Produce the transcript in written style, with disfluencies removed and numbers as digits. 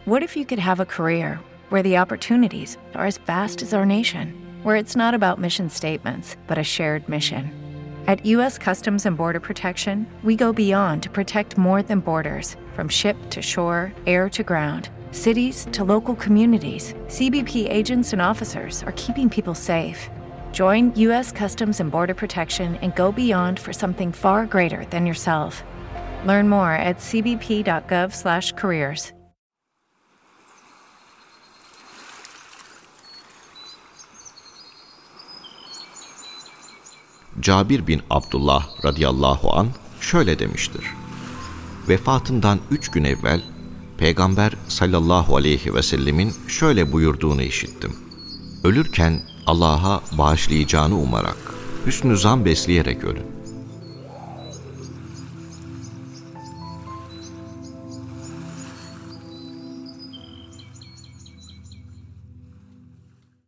What if you could have a career where the opportunities are as vast as our nation, where it's not about mission statements, but a shared mission? At U.S. Customs and Border Protection, we go beyond to protect more than borders. From ship to shore, air to ground, cities to local communities, CBP agents and officers are keeping people safe. Join U.S. Customs and Border Protection and go beyond for something far greater than yourself. Learn more at cbp.gov/careers. Cabir bin Abdullah radıyallahu an şöyle demiştir: Vefatından 3 gün evvel Peygamber sallallahu aleyhi ve sellemin şöyle buyurduğunu işittim. Ölürken Allah'a bağışlayacağını umarak, hüsnü zan besleyerek ölün.